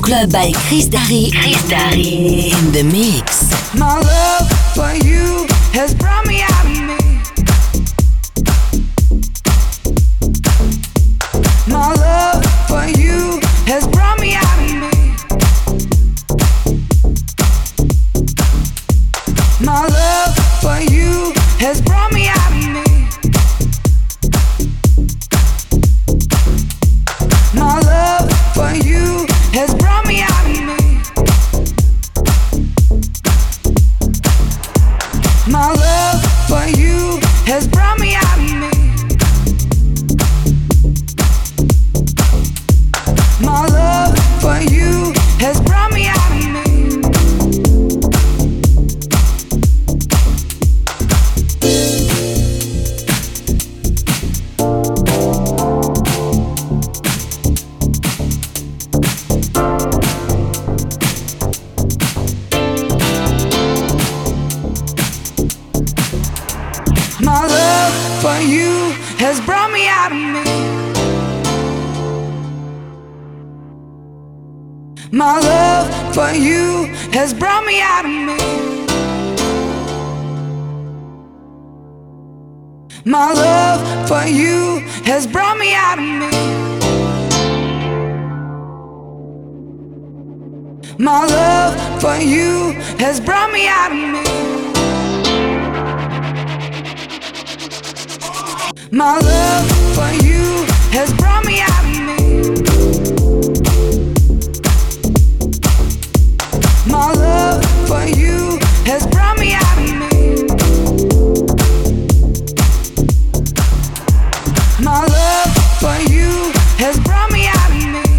Club by Chris Darry. Chris Darry in the mix. My love for you has brought me out of me. My love for you has brought me out of me. My love for you has brought me out of me. My love for you has brought me out of me. My love for you has brought me out of me. My love for you has brought me out of me. My love for you has brought me out of me. My love for you has brought me out of me. My love for you has brought me out of me. My love for you has brought me out of me. My love for you has brought me out of me. My love for you has brought me out of me. My love for you has brought me out of me.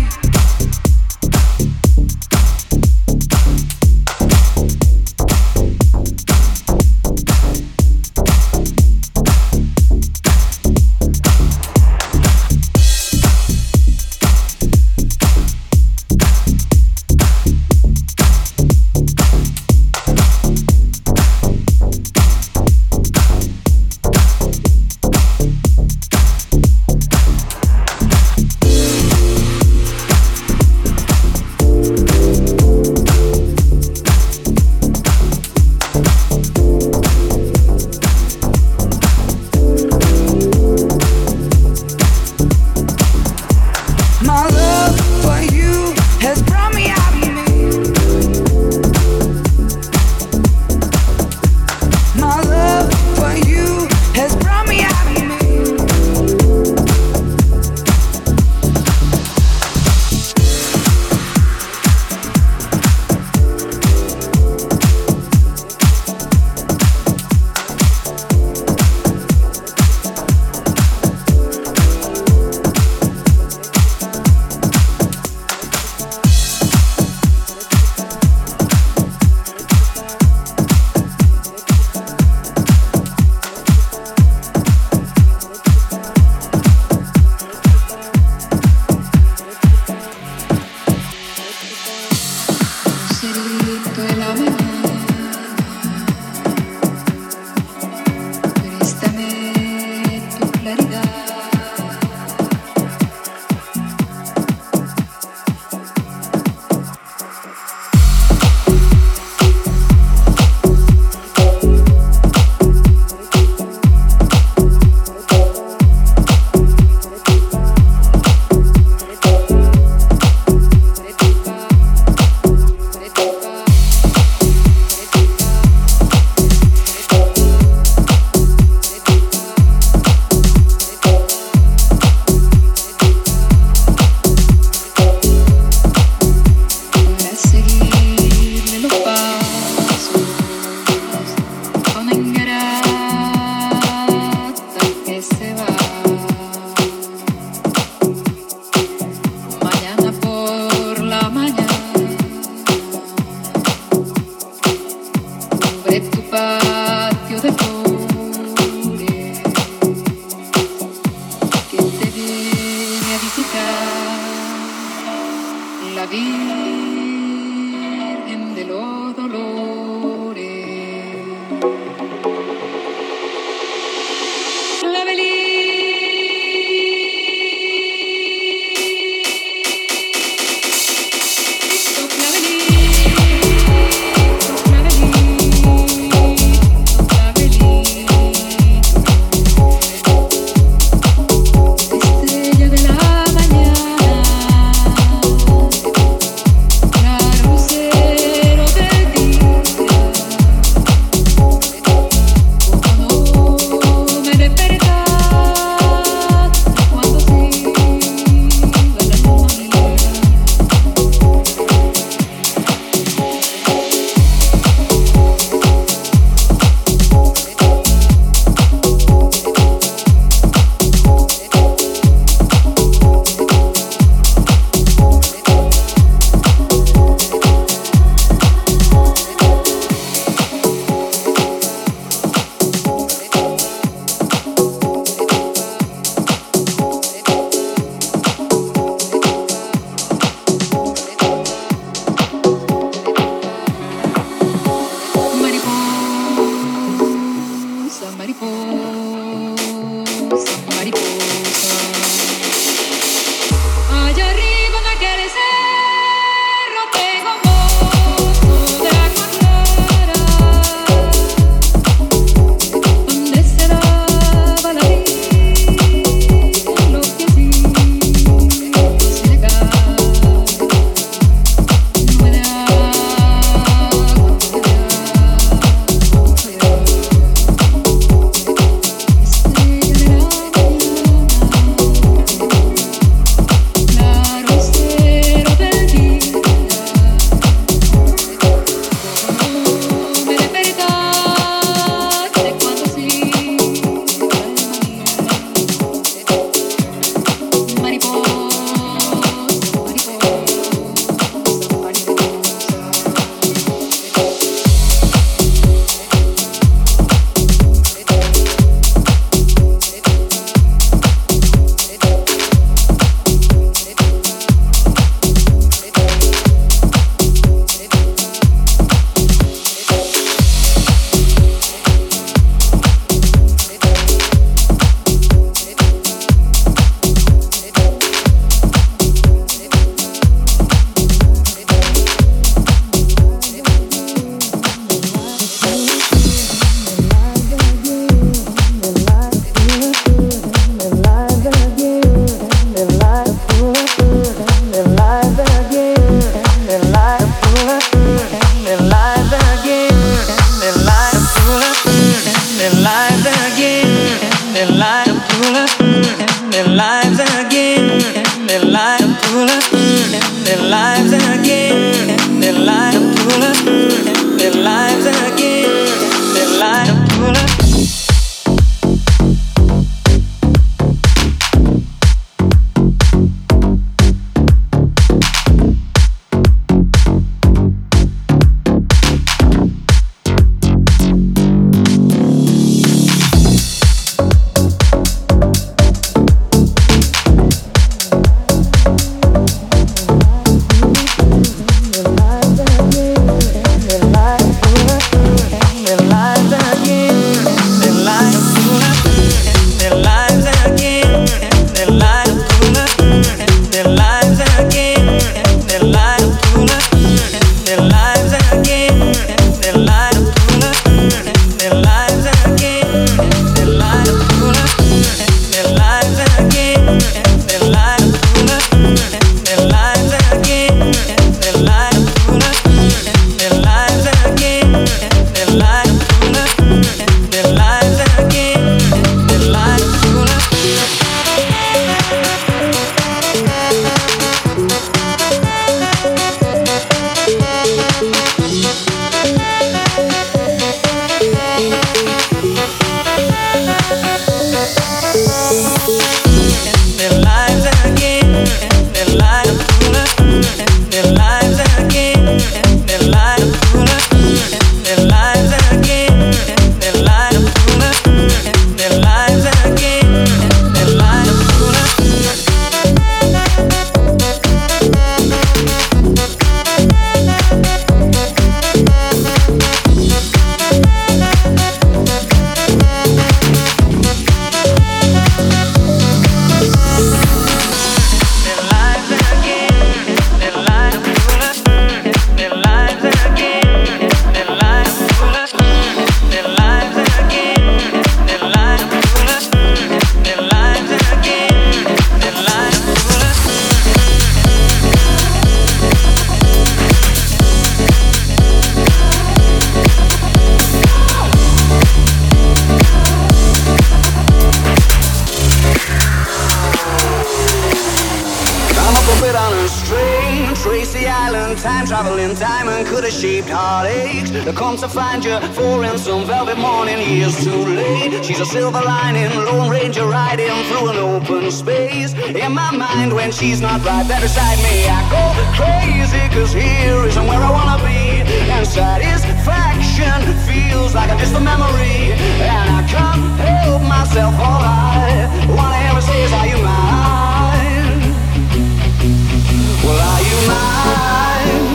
travel in time and could have shaped heartaches. To come to find you, for in some velvet morning, years too late. She's a silver lining, Lone Ranger riding through an open space. In my mind, when she's not right there beside me, I go crazy, cause here isn't where I wanna be. And satisfaction feels like a distant memory, and I can't help myself. All I wanna ever say is, are you mine? Well, are you mine?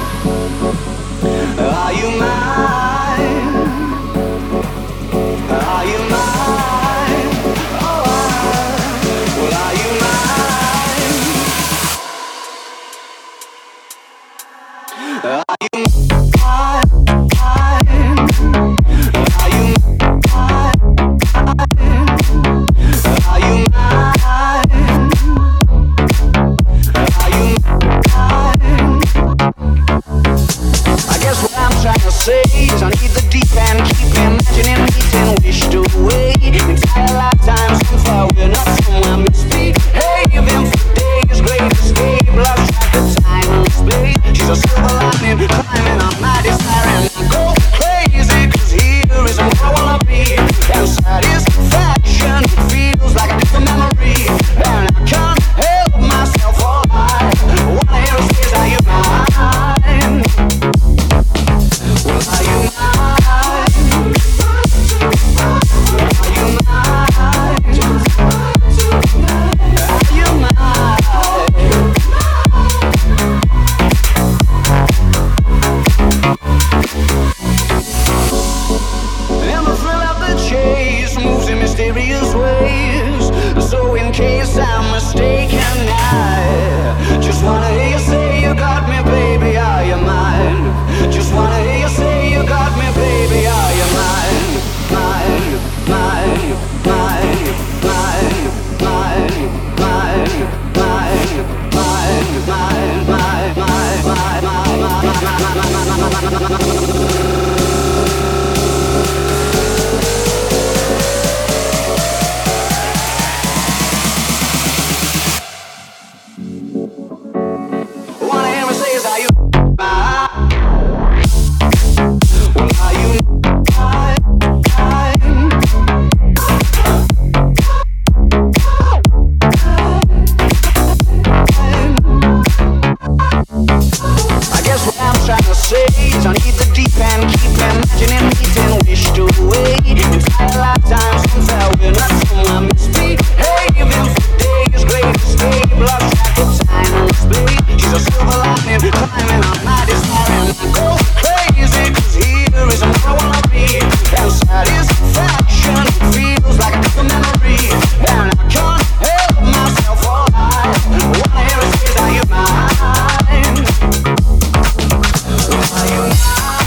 Are you mine? Are you mine? Oh, well, are you mine? Are you mine? Are you mine? Are you mine? Are you mine? I guess what I'm trying to say is I need the deep end, keep imagining meeting wished away. Entire lifetimes so far, we're not somewhere misbehaving for days. Great escape, lost track of time and space. She's a silver lining, climbing up my desire, and I go crazy, cause here isn't where I wanna be. And satisfaction feels like a different memory, and I can't help myself. All I wanna hear is, are you mine? Well, are you mine? Are you mine? Are you mine? And the thrill of the chase moves in mysterious ways. So in case I'm mistaken, I just wanna hear you say you got me, baby, are you mine? Just wanna hear you say you got me, baby, are you mine? Mine, mine, mine, mine, mine, mine, mine, mine, mine, mine, mine, I need the deep end, keep imagining meeting wished away. Entire lifetimes so far, we're not somewhere misbehaving for days. Great escape, lost track of time and space. She's a silver lining, climbing up my desire, and I go crazy, cause here isn't where I wanna be. And satisfaction feels like a different memory, and I can't help myself. All I wanna hear is, are you mine? Are you mine?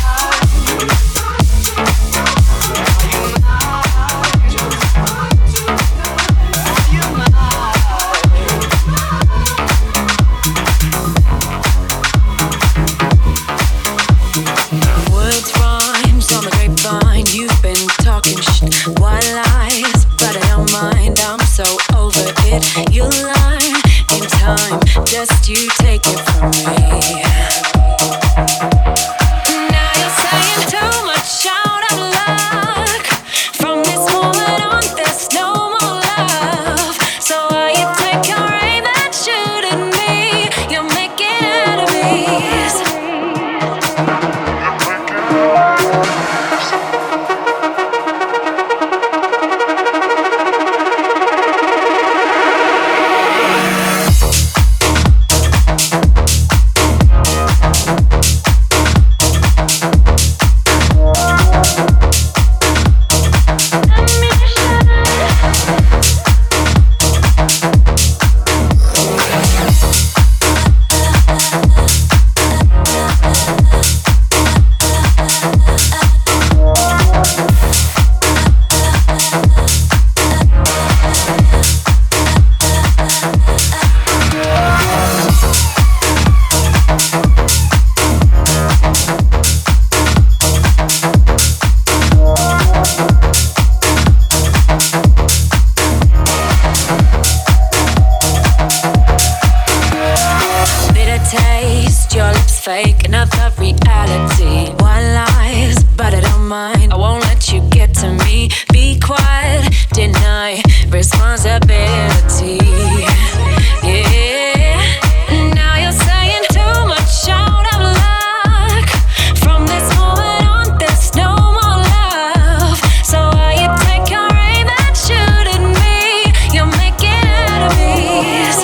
You lie in time, just you take it from me. Now you're saying too much out of luck. From this moment on, there's no more love. So while you take your aim and shoot at me, you're making enemies. reality. White lies, but I don't mind. I won't let you get to me. Be quiet, deny responsibility. Yeah. Now you're saying too much out of luck. From this moment on, there's no more love. So why you take your aim and shoot at me? You're making enemies.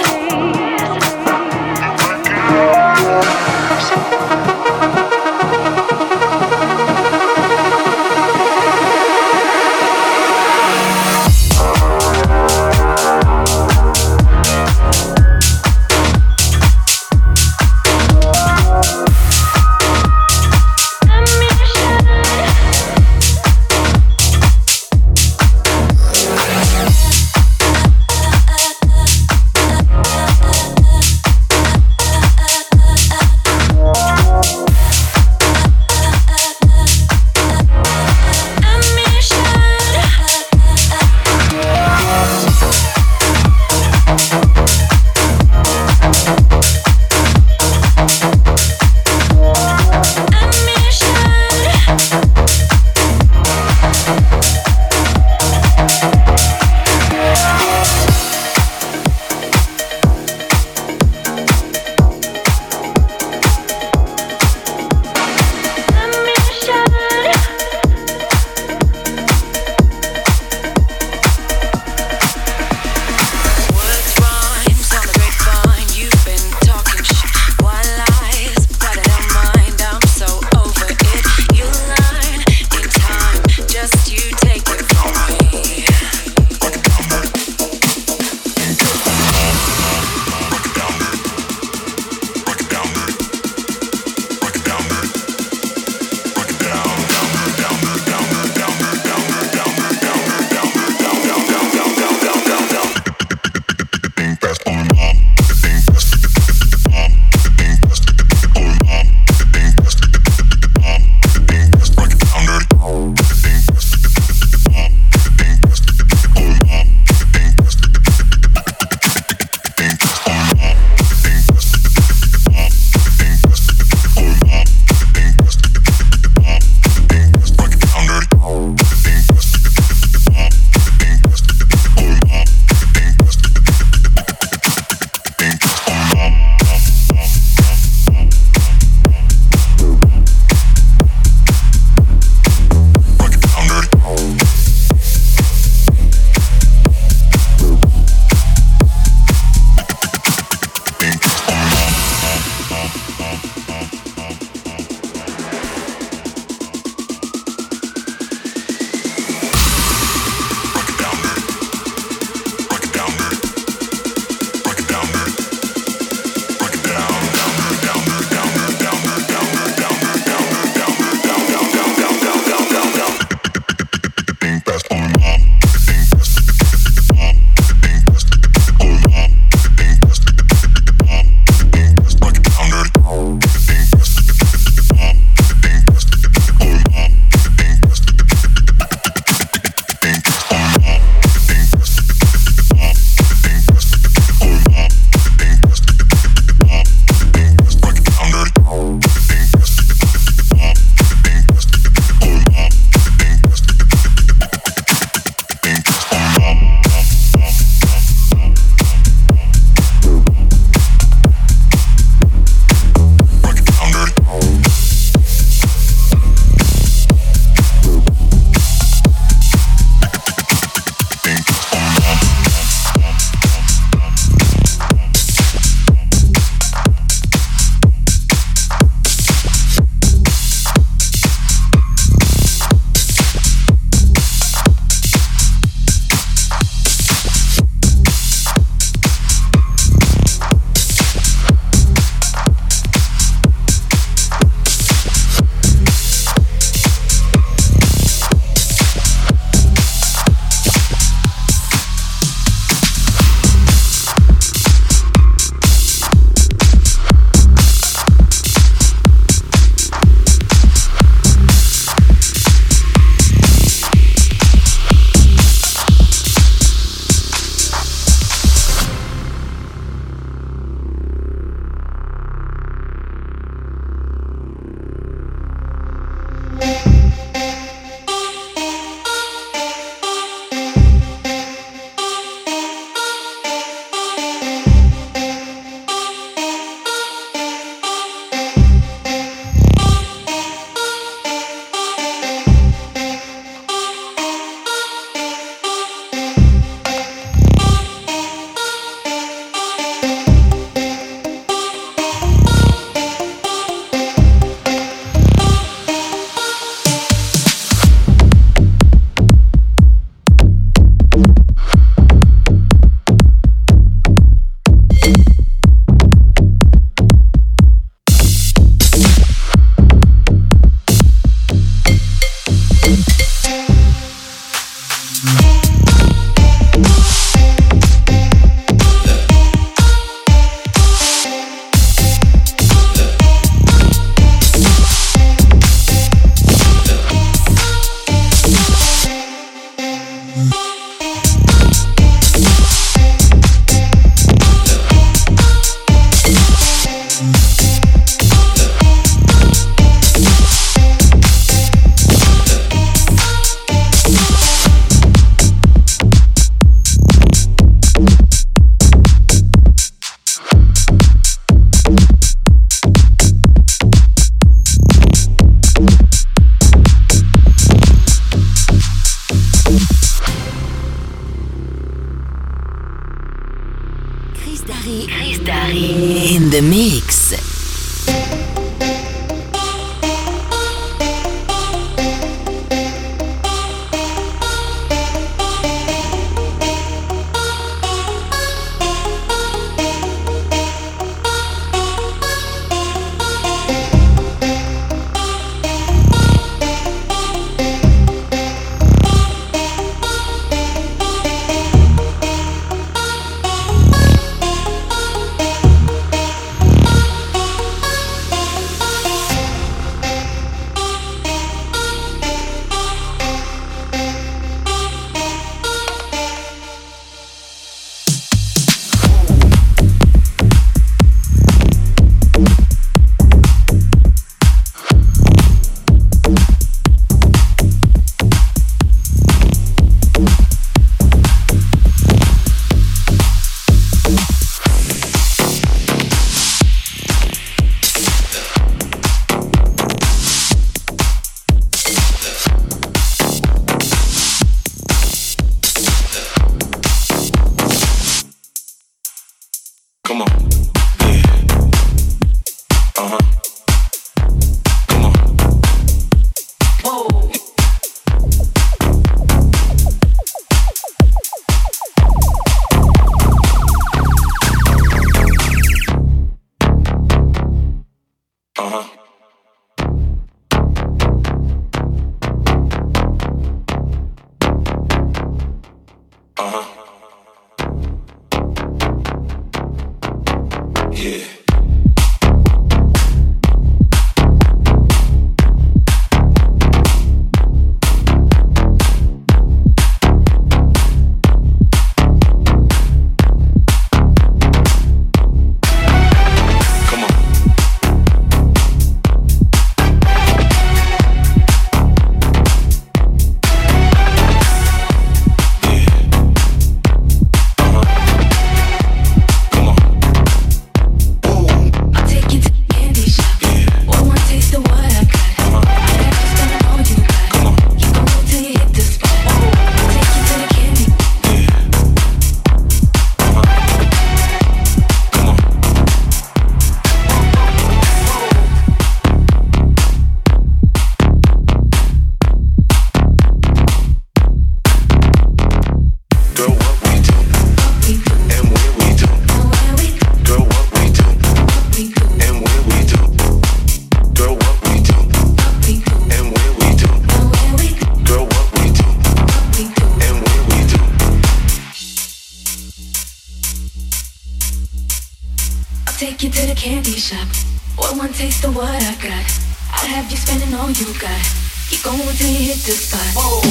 shop. Or one taste of what I got. I'll have you spending all you got. Keep going till you hit the spot. Whoa.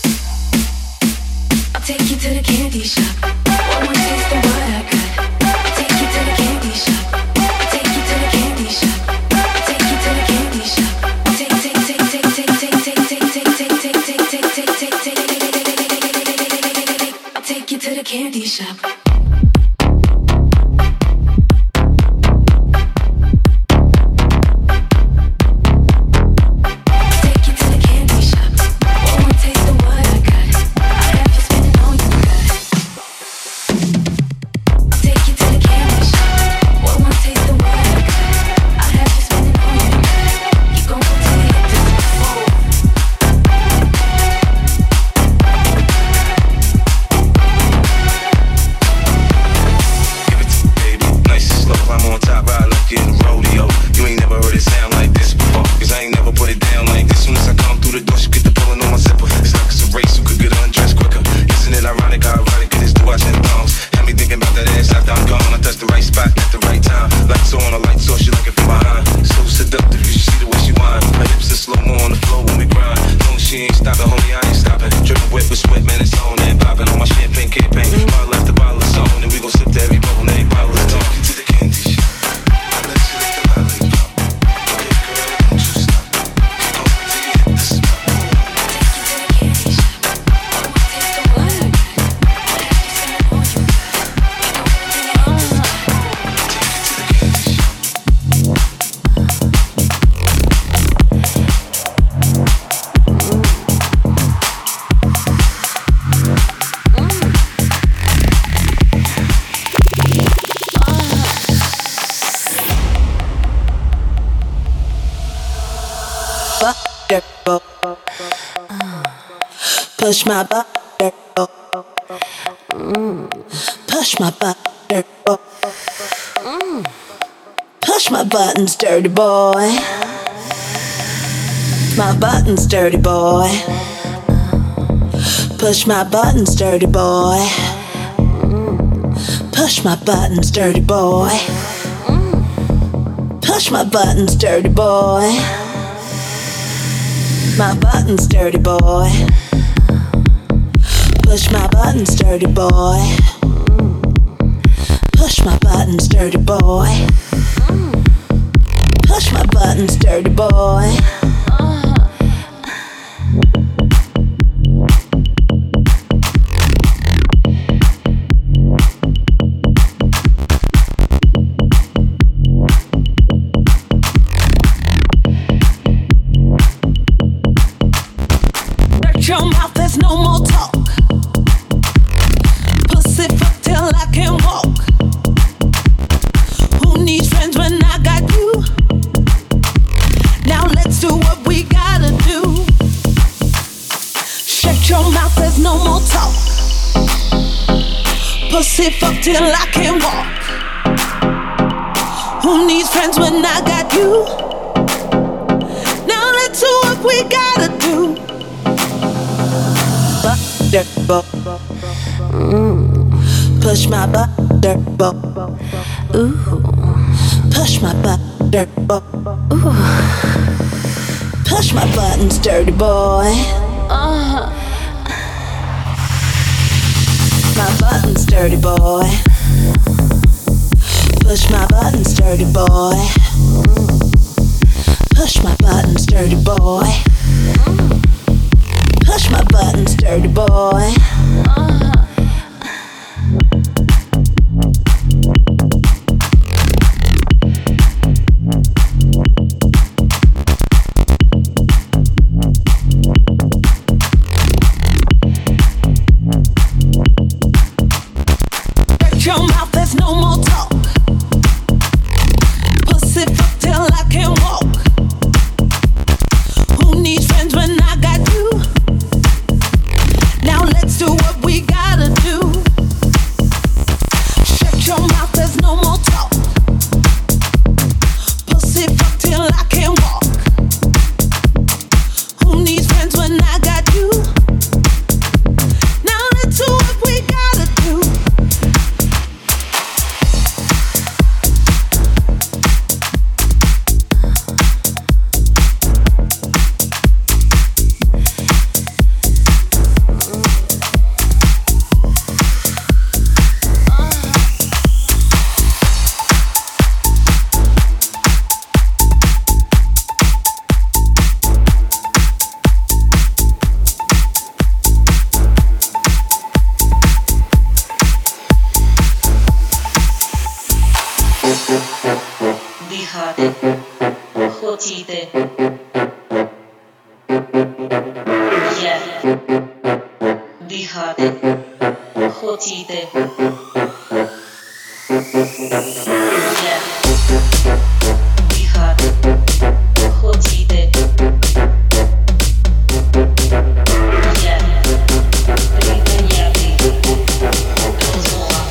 I'll take you to the candy shop. Or one taste of what I got. I'll take you to the candy shop. I'll take you to the candy shop. I'll take you to the candy shop. I'll take you to the candy shop. Push my butter, push my butter, push my buttons, dirty boy. My buttons, dirty boy. Push my buttons, dirty boy. Push my buttons, dirty boy. Push my buttons, dirty boy. My buttons, dirty boy. Push my buttons, dirty boy. Push my buttons, dirty boy. Push my buttons, dirty boy. Shut your mouth, there's no more talk. Pussy fuck till I can walk. Who needs friends when I got you? Now let's do what we gotta do. Shut your mouth, there's no more talk. Pussy fuck till I can walk. Who needs friends when I got you? Now let's do what we gotta do. Push my butter, ooh. Push my butter, ooh. Push my buttons, dirty boy. My buttons, dirty boy. Push my buttons, dirty boy. Push my buttons, dirty boy. Push my buttons, dirty boy. Shut your mouth, there's no more talk. Pussy fuck till I can walk. Who needs friends when I got you? Now let's do what we got. Дихати хотіти. Дихати хотіти. Припиняти розмова.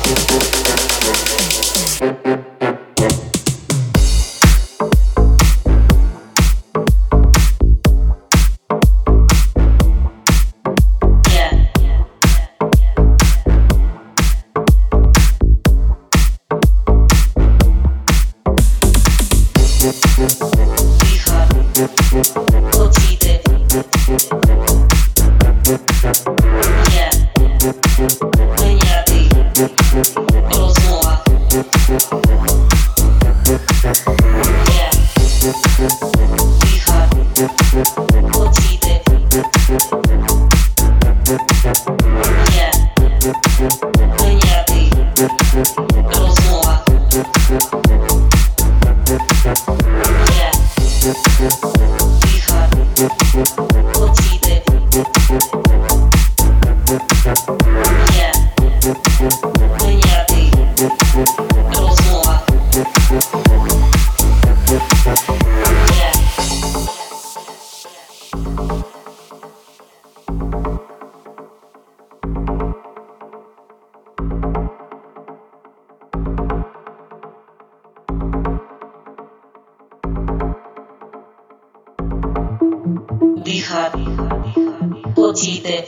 Дихати, хотіти.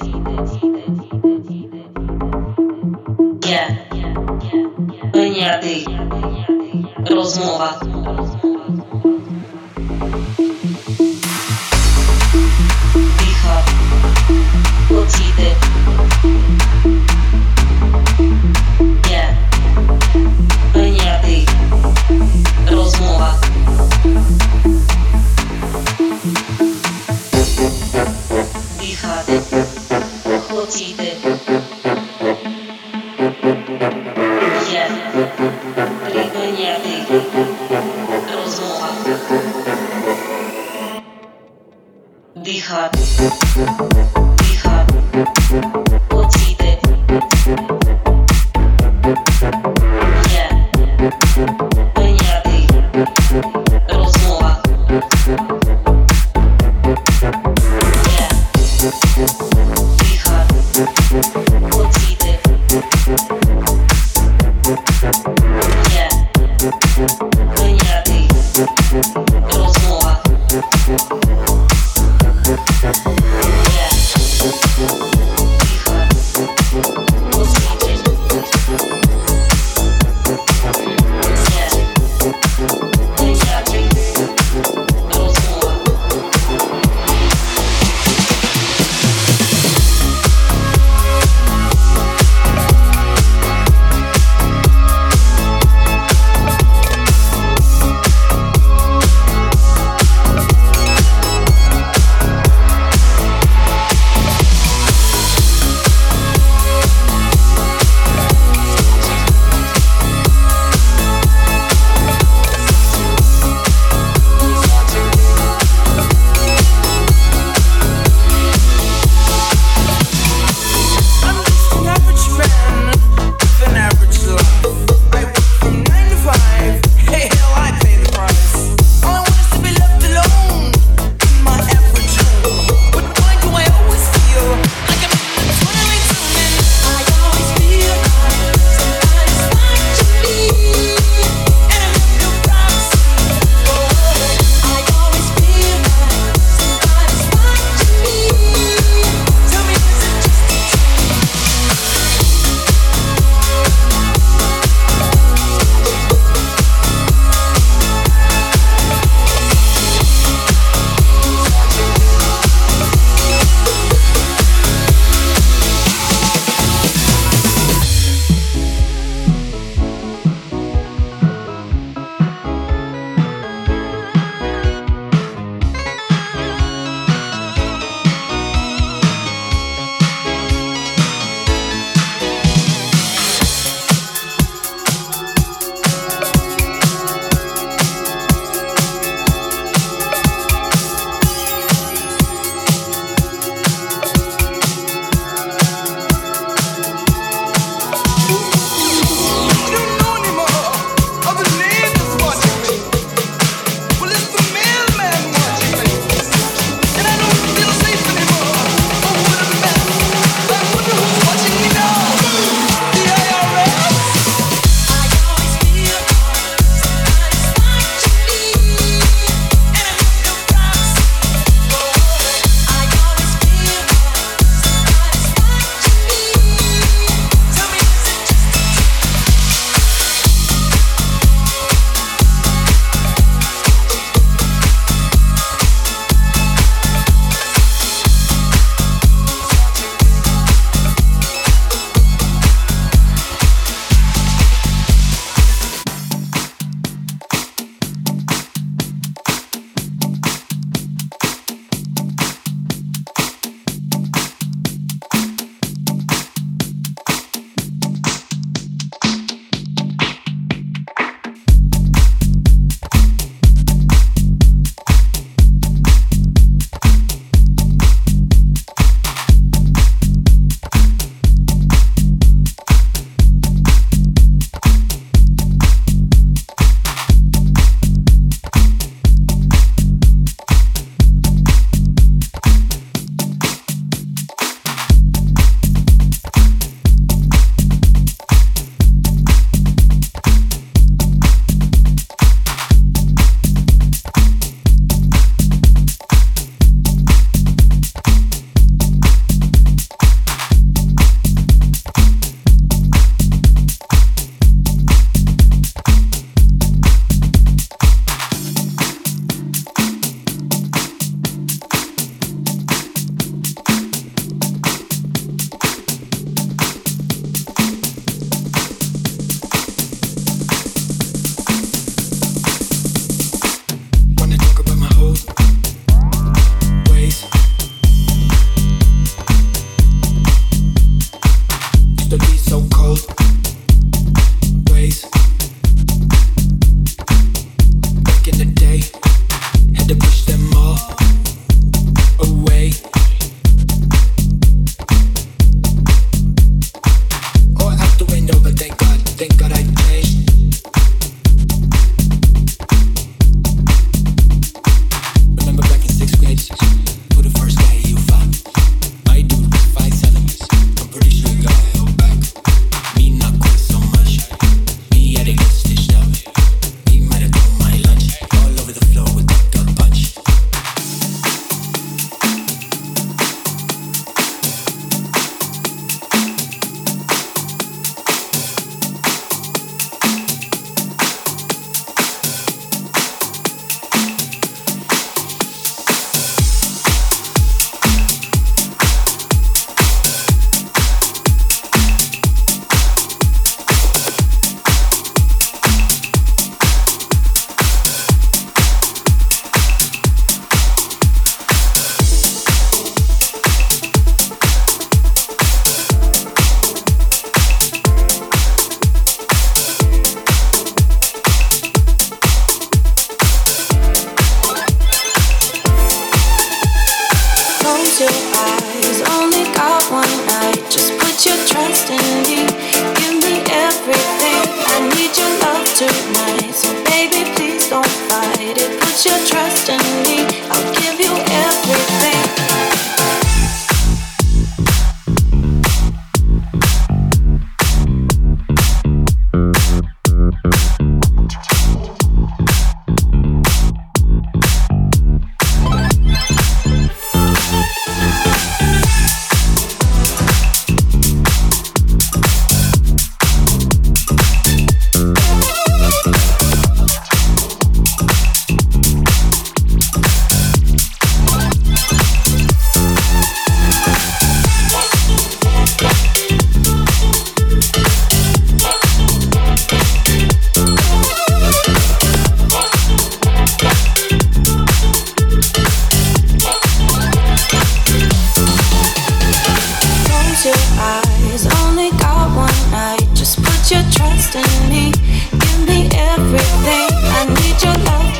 Прийняти розмова. Дихати, хотіти. Прийняти розмова. Дихати, хотіти. Припиняти розмова. Дихати, дихати, хотіти. Прийняти розмова. Дихати, хотіти. Прийняти розмова.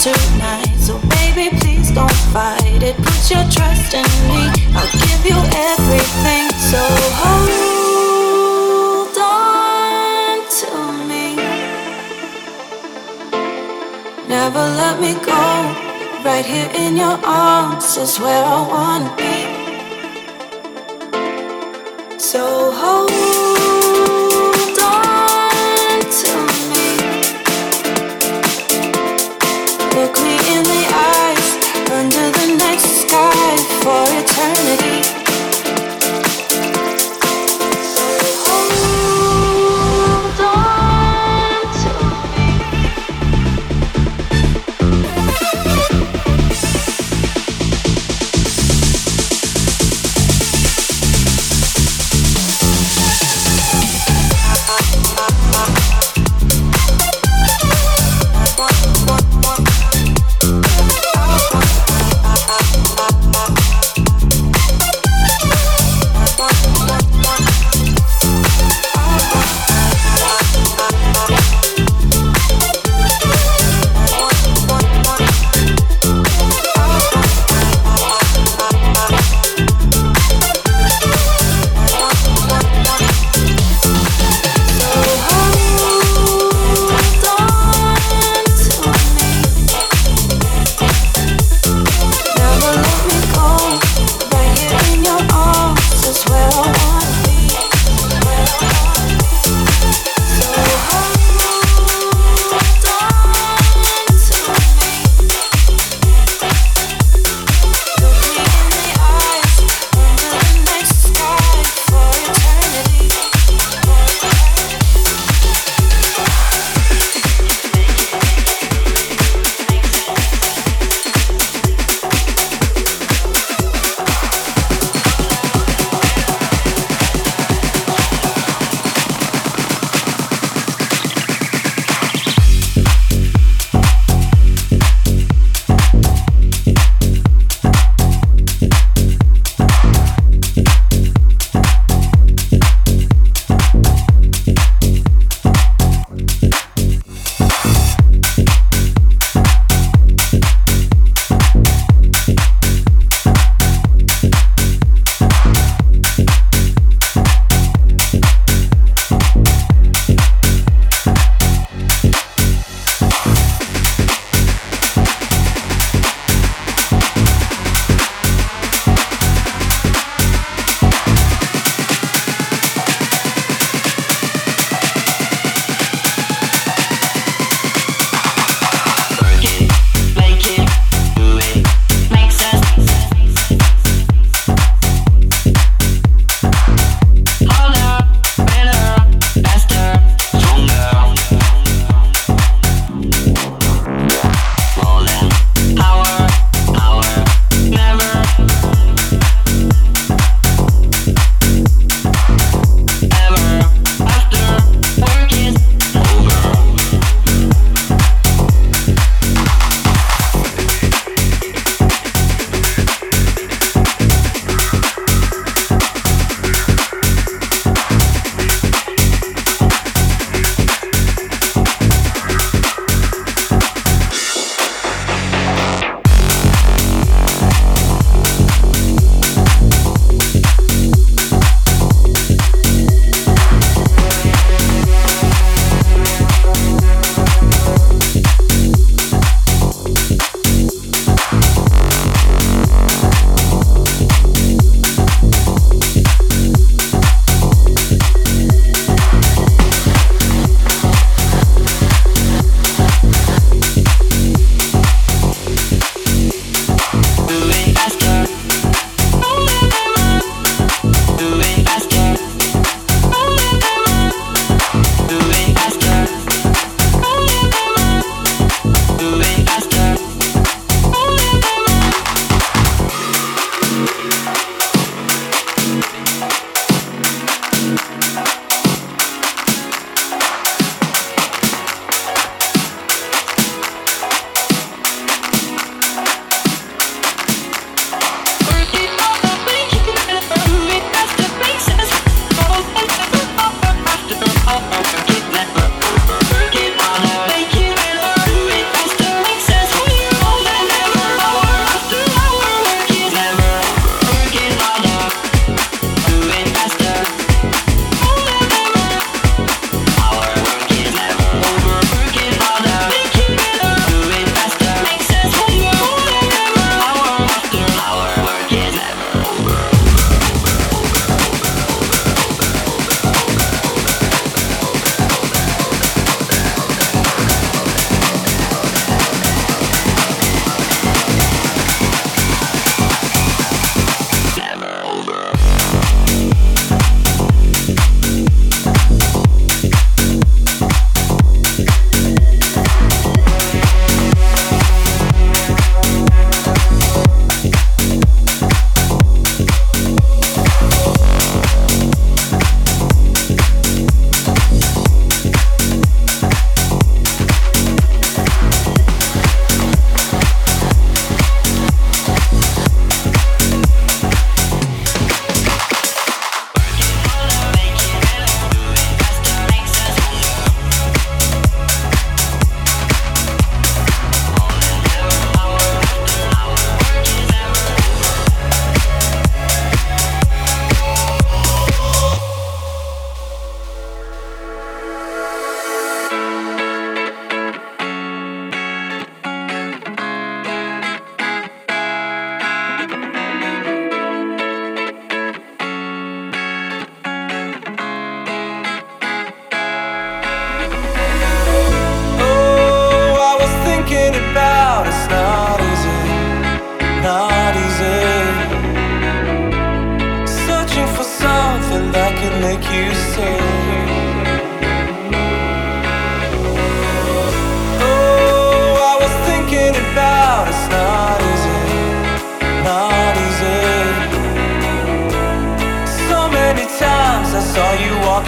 tonight. So baby, please don't fight it. Put your trust in me. I'll give you everything. So hold on to me. Never let me go. Right here in your arms is where I wanna be. So hold on to me. Look me in the eyes under the night sky for eternity. So hold on to me.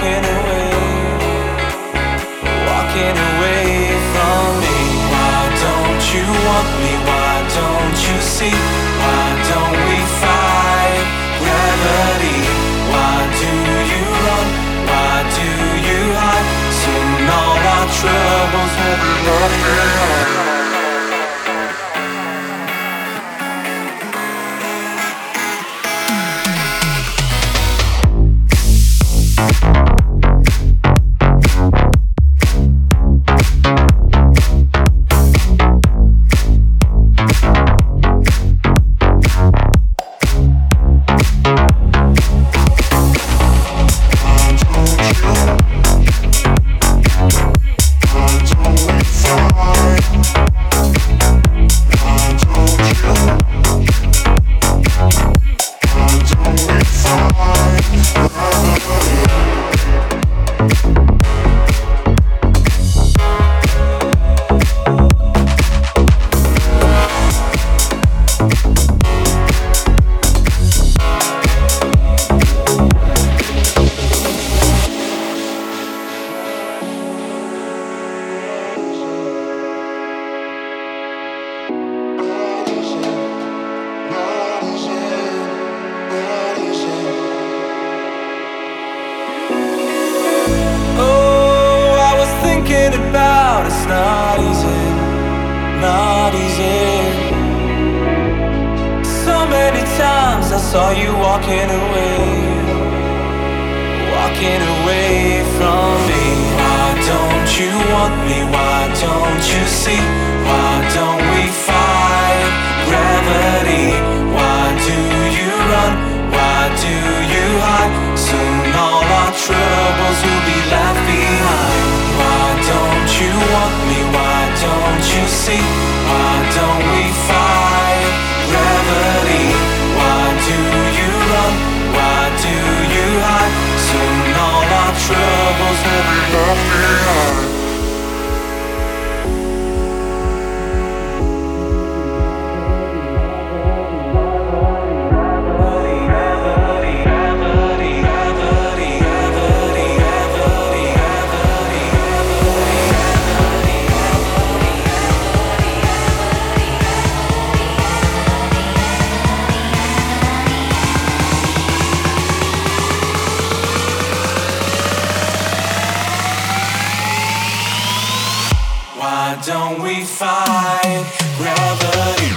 walking away from me. Why don't you want me? Why don't you see? Why don't we fight gravity? Why do you run? Why do you hide? Soon all our troubles will be left behind. Don't we fight gravity?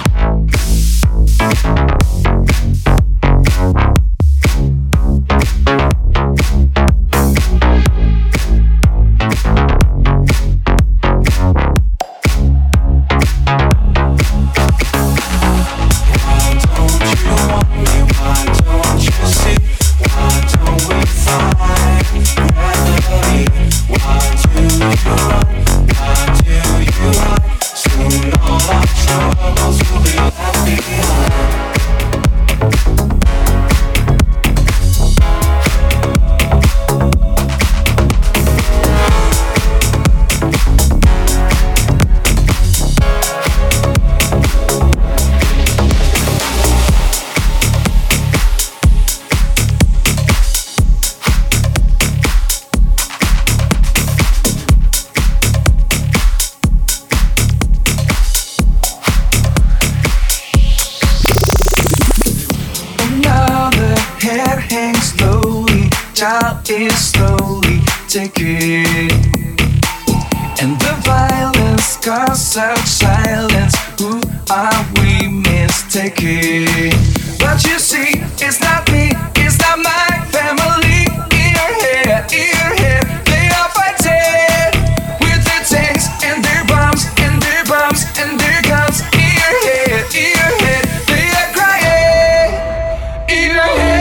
Is slowly ticking, and the violence caused such silence. Who are we mistaken? But you see, it's not me, it's not my family. In your head, they are fighting with their tanks and their bombs and their bombs and their guns. In your head, they are crying. In your head.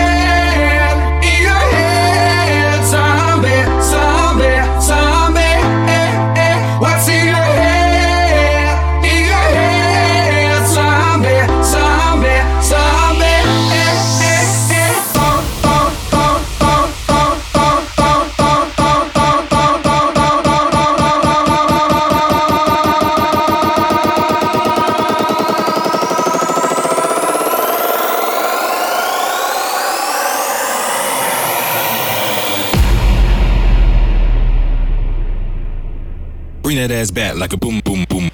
Zombie Bring that ass back like a boom, boom, boom.